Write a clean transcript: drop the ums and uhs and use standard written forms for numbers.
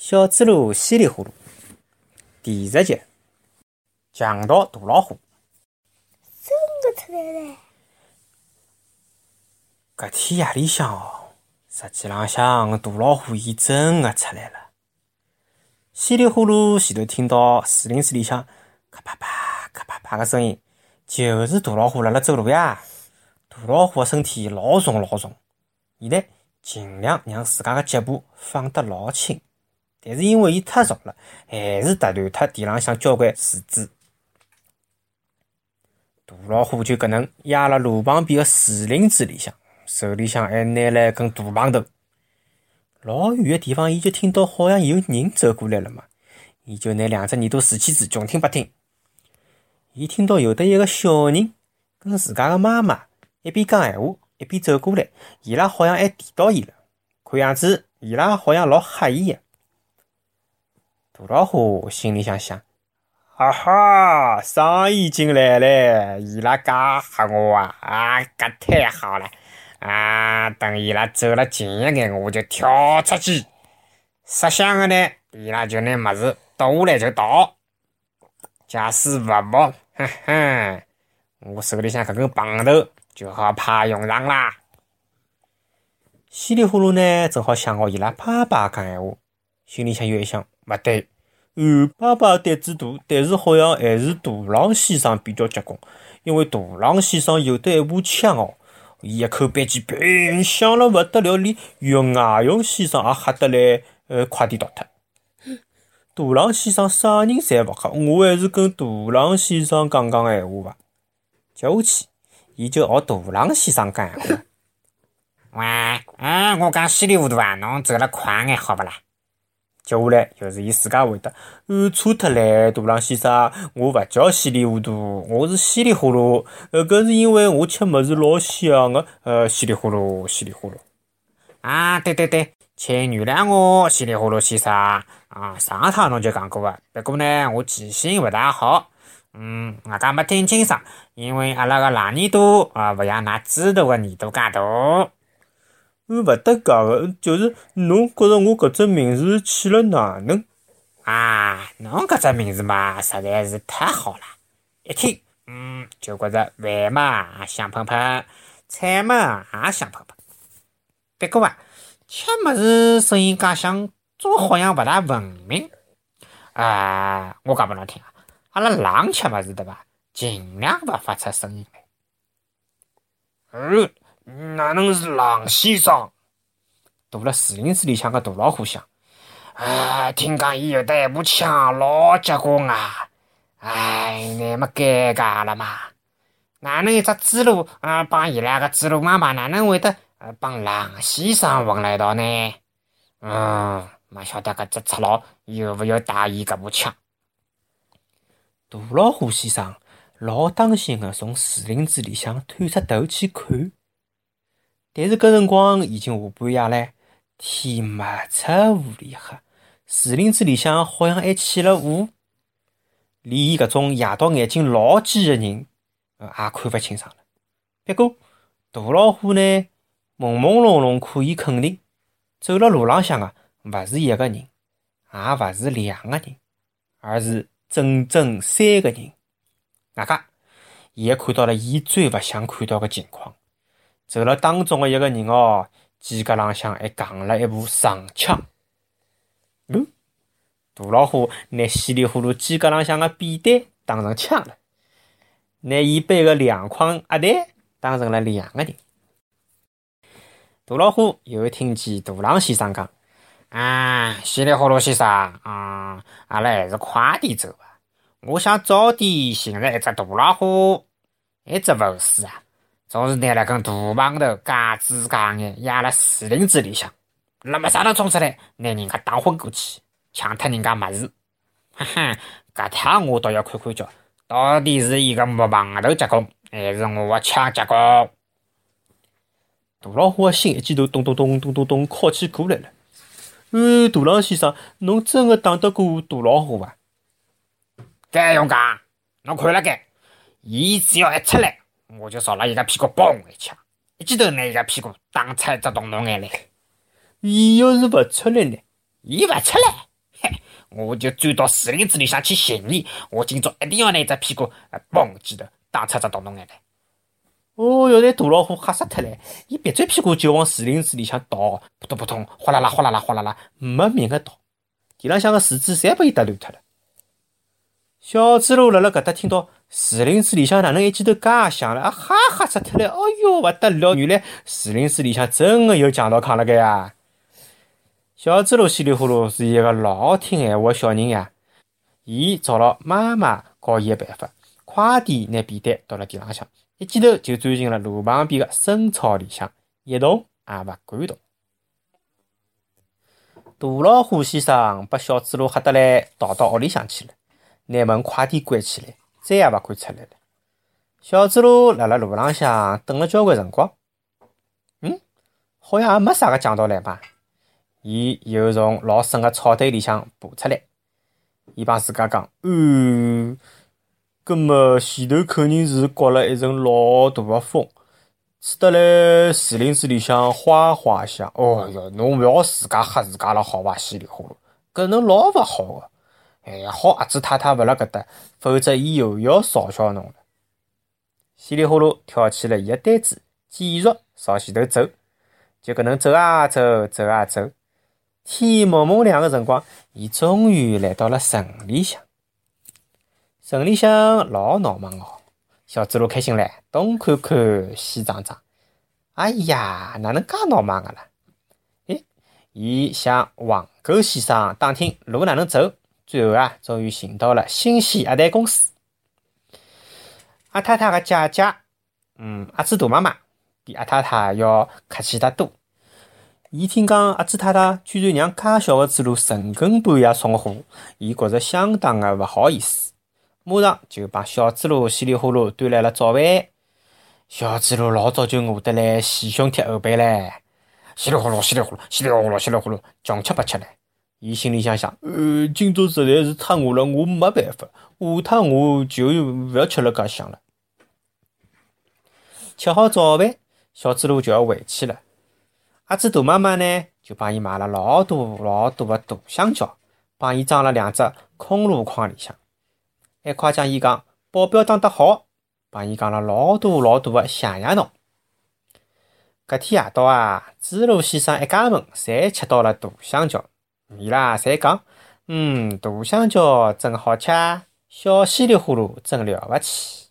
小猪猡稀里呼噜第10集，强盗大老虎。 真的出来了！ 搿天夜里向实际浪向大老虎伊真的出来了。稀里呼噜前头听到树林子里向咔啪啪咔啪啪的声音，就是大老虎辣辣走路呀。大老虎的身体老重老重，伊呢尽量让自家的脚步放得老轻，但是因为伊太重了，还是踏断脱地浪向交关树枝。大老虎就搿能压辣路旁边的树林子里向，手里向还拿了一根大棒头。老远的地方，伊就听到好像有人走过来了嘛，伊就拿2只耳朵竖起子，穷听不听。伊听到有的一个小人跟自家的妈妈一边讲闲话，一边走过来，伊拉好像还提到伊了，看样子伊拉好像老吓伊的。大老虎心里想，哈哈，生意进来了，伊拉介吓我啊，搿太好了啊！等伊拉走了近一眼，我就跳出去。设想的呢，伊拉就拿物事倒下来就倒。假使勿摸，哼哼，我手里向搿根棒头就好派用场啦。稀里呼噜呢，正好想好伊拉爸爸讲闲话，心里向又一想，勿对。爸爸胆子大，但是好像还是大狼先生比较结棍，因为大狼先生有得一把枪伊一口扳机砰响了勿得了，连岳外勇先生也吓得来快点逃脱。大狼先生啥人侪勿吓，我还是跟大狼先生讲闲话吧。接下去伊就学大狼先生讲闲话。喂，我讲稀里糊涂啊，侬走了快眼好勿啦？接下来就是伊自家回答，错脱唻，大狼先生，我勿叫稀里糊涂，我是稀里呼噜，搿是因为我吃物事老香的，稀里呼噜，稀里呼噜。啊，对，请原谅我，稀里呼噜先生啊，上趟侬就讲过的，不过呢，我记性勿大好，我讲没听清爽，因为阿拉个狼耳朵勿像㑚猪头个耳朵介大。勿搭界个，就是侬觉着我搿只名字起了哪能？侬搿只名字嘛，实在是太好了，一听，就觉着饭嘛香喷喷，菜嘛也香喷喷。不过吃物事声音介响，总好像勿大文明。我讲拨侬听阿拉狼吃物事对伐？尽量勿发出声音来。哪能是狼先生？躲辣树林子里向个大老虎想，听讲伊有得一把枪，老结棍啊！那么尴尬了嘛？哪能一只猪猡帮伊拉个猪猡妈妈哪能会得帮狼先生混辣一道呢？没晓得搿只赤佬有勿有带伊搿把枪？大老虎先生老当心个从树林子里向探出头去看。但是搿辰光已经下半夜唻，天没出雾里黑，树林子里向好像还起了雾，连伊搿种夜到眼睛老尖的人也看勿清爽了。不过大老虎呢，朦朦胧胧可以肯定，走了路浪向勿是一个人，也勿是2个人，而是整整3个人。外加伊还看到了伊最勿想看到的情况。走了当中的一个人肩胛浪向还扛了一部长枪。大老虎拿稀里呼噜肩胛浪向的扁担当成枪了，拿伊背的2筐鸭蛋当成了2个人。大老虎又听见大狼先生讲，稀里呼噜先生，阿拉还是快点走吧。我想早点寻着一只大老虎，一只勿是总是拿了根大棒头，嘎吱嘎眼压辣树林子里向，那么啥头冲出来，拿人家打昏过去，抢脱人家物事。搿趟我倒要看看叫，到底是伊个木棒头结棍，还是我的枪结棍？大老虎的心一记头咚咚咚咚咚咚敲起过来了。大狼先生，侬真的打得过大老虎伐？该用讲，侬看了该，伊只要一出来，我就朝了伊个屁股嘣一枪，一记头拿伊个屁股打出一只洞洞眼来。伊要是勿出来呢？伊勿出来， 我就钻到树林子里向去寻你。我今朝一定要拿只屁股嘣记头打出只大洞眼来。哦哟，那大老虎吓死脱了，伊别转屁股就往树林子里向倒，扑通扑通，哗啦啦哗啦啦哗啦啦，没命个倒。地浪向个树枝侪被伊打乱脱了。小猪猡辣辣搿搭听到树林子里向哪能一记头介响了，吓死脱了！哦哟，勿得了，原来树林子里向真个有强盗扛辣盖呀！小猪猡稀里呼噜是一个老听闲话个小人呀，伊找了妈妈教伊个办法，快点拿便当倒辣地浪向，一记头就钻进了路旁边个深草里向，一动也勿敢动。大老虎先生把小猪猡吓得来，逃到屋里向去了，拿门快点关起来，再也勿敢出来了。小猪猡辣辣路浪向等了交关辰光，好像也没啥个强盗来嘛。伊又从老深个草堆里向爬出来，伊帮自家讲：搿么前头肯定是刮了一阵老大个风，吹得来树林子里向哗哗响。哦哟，侬勿要自家吓自家了好伐？稀里呼噜，搿能老勿好个。好阿子太太勿辣搿搭，否则伊又要嘲笑侬了。稀里呼噜挑起了伊个担子，继续朝前头走。就搿能走啊走，走啊走。天蒙蒙亮个辰光，伊终于来到了城里向。城里向老闹忙哦，小猪猡开心唻，东看看西张张。哎呀，哪能介闹忙个啦？伊向黄狗先生打听路哪能走，最后终于寻到了新鲜鸭蛋公司。阿太太个姐姐，阿猪大妈妈比阿太太要客气得多。伊听讲阿猪太太居然让介小个猪猡成根半夜送货，伊觉着相当个勿好意思，马上就帮小猪猡稀里呼噜端来了早饭。小猪猡老早就饿得来前胸贴后背唻，稀里呼噜稀里呼噜稀里呼噜稀里呼噜，穷吃不吃唻。伊心里想想，今朝实在是太饿了，我没办法，下趟我就勿要吃了介香了。吃好早饭，小猪猡就要回去了。阿猪大妈妈呢，就帮伊买了老大老大个大香蕉，帮伊装了2只空箩筐里向，还夸奖伊讲保镖打得好，帮伊讲了老大老大个谢谢侬。搿天夜到猪猡先生一家门侪吃到了大香蕉，伊拉侪讲，大香蕉真好吃，小稀里呼噜真了勿起。